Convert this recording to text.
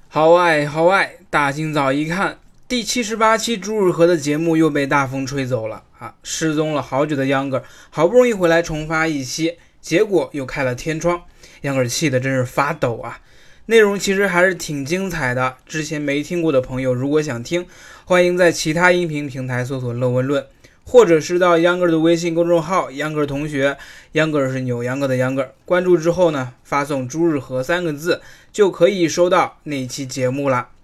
好爱好爱，大清早一看，第78期朱日和的节目又被大风吹走了啊！失踪了好久的秧歌好不容易回来重发一期，结果又开了天窗，秧歌气得真是发抖啊！内容其实还是挺精彩的，之前没听过的朋友如果想听，欢迎在其他音频平台搜索乐问论，或者是到秧歌的微信公众号秧歌同学，秧歌是扭秧歌的秧歌，关注之后呢，发送朱日和3个字就可以收到那一期节目了。